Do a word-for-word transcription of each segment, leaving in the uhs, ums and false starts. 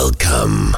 Welcome.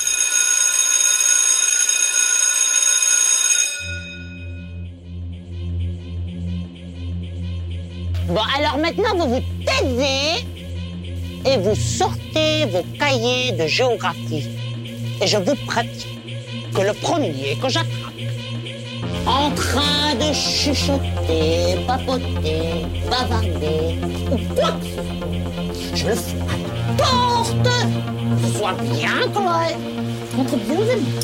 Bon, alors maintenant, vous vous taisez et vous sortez vos cahiers de géographie. Et je vous pratique que le premier que j'attrape, en train de chuchoter, papoter, bavarder, ou quoi que ce soit, je le fais à la porte, que ce soit bien clair entre vous et moi.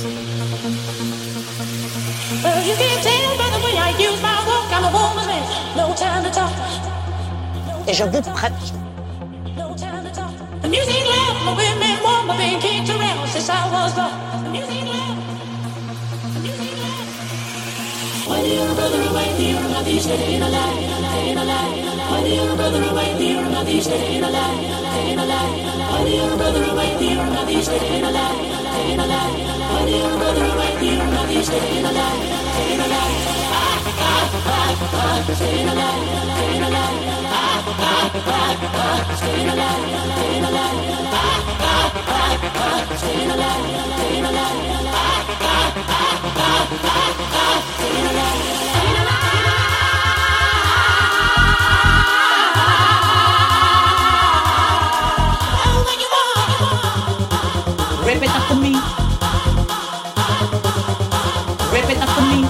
Well, you can tell by the way I use my walk, I'm a woman's man, no time to talk. Et je vous pratique. No time to talk. The music loud, my women warm, I've been kicked around since I was born. The music loud, the music loud. When you're a brother away, you're not these staying alive, staying alive. When you're a brother away, you're not these staying alive, staying alive. When you're a brother away, you're not these staying alive, staying alive. When you're a brother away, you're not these staying alive, staying alive. Ah, ah, ah, ah, staying alive, staying alive. Ah, ah, ah, ah, staying alive, staying alive. Ah, ah, ah, ah, staying alive, staying alive. Ah, ah, ah, ah, ah, staying alive, staying alive. Oh, when you want, Rip it after me. Rip it after me.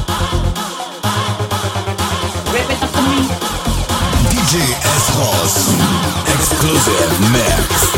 Rip it after me. D J S-Ross. Exclusive mix.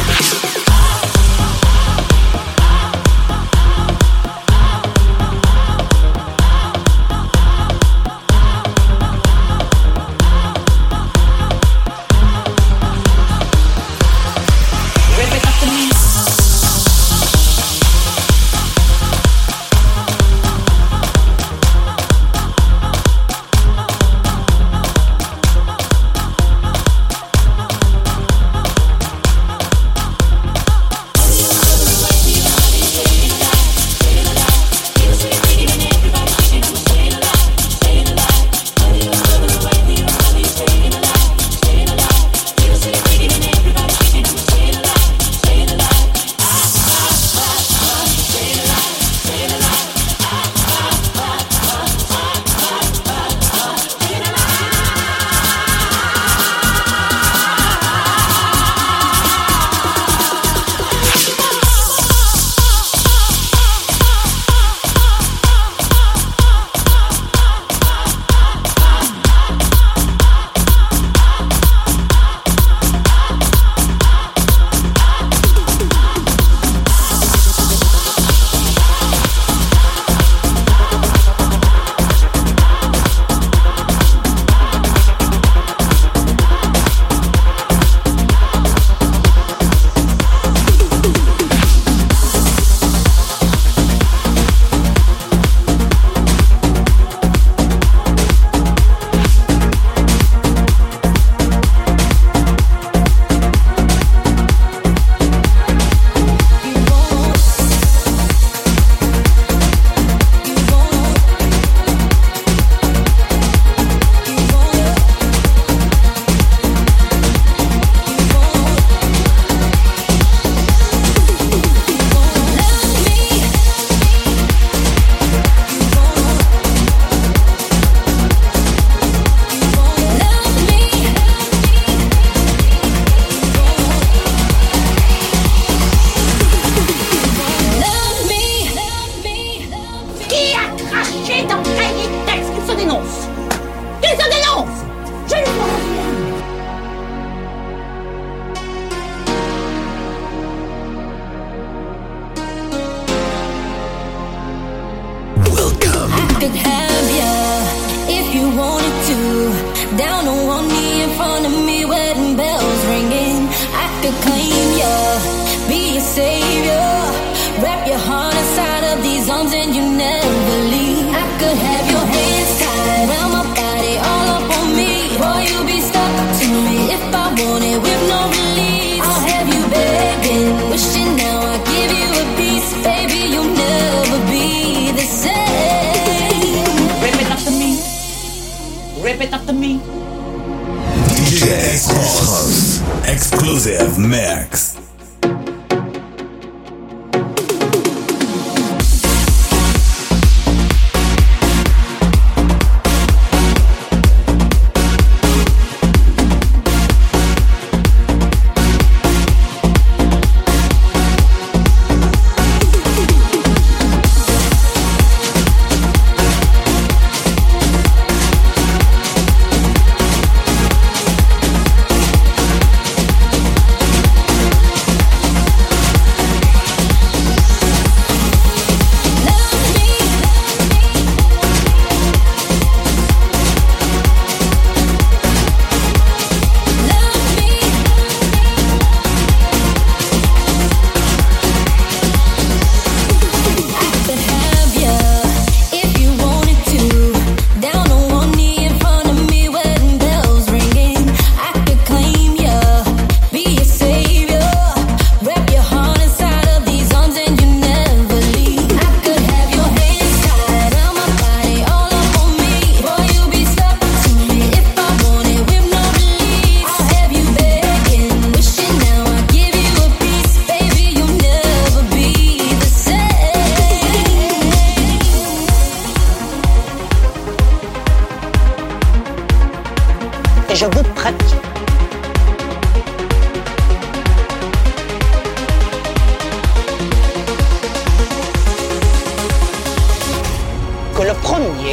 D J S-Ross. Exclusive mix.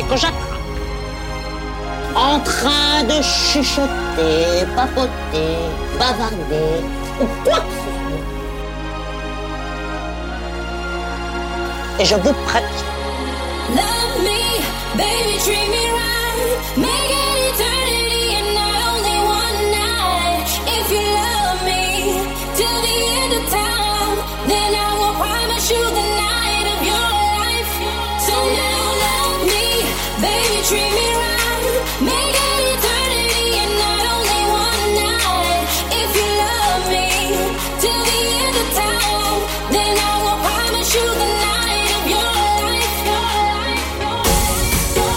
que j'attrape, en train de chuchoter, papoter, bavarder, ou quoi que ce soit. Et je vous pratique. Love me, baby, treat me right. Make it eternity and not only one night. If you love me till the end of time, then I will promise you the night of your life. So now love me, baby, treat me right. Make it eternity and not only one night. If you love me till the end of time, then I will promise you the night of your life. Your life, your life, your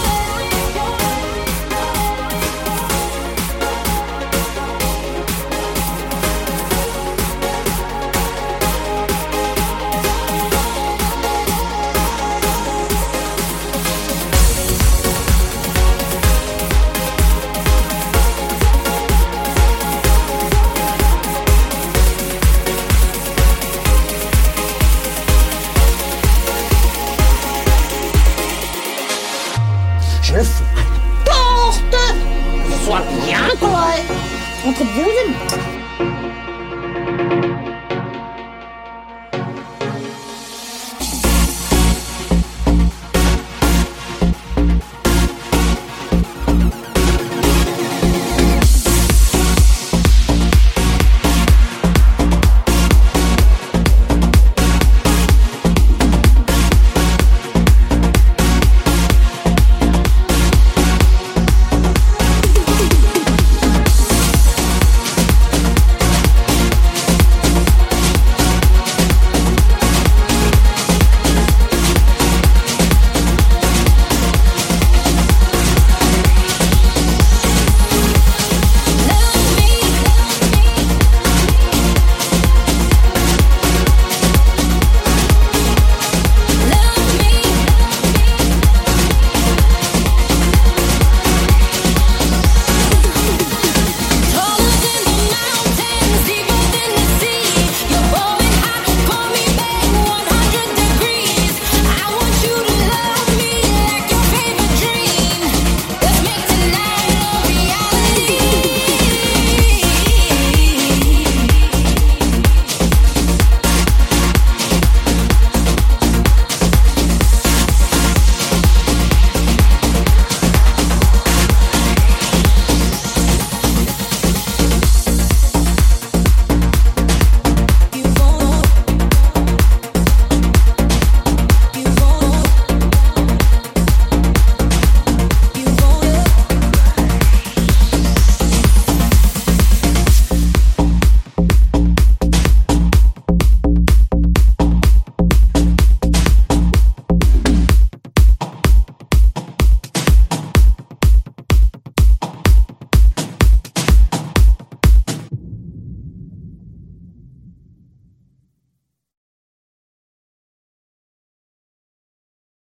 Je le fous à la porte, que ce soit bien correct entre vous et moi.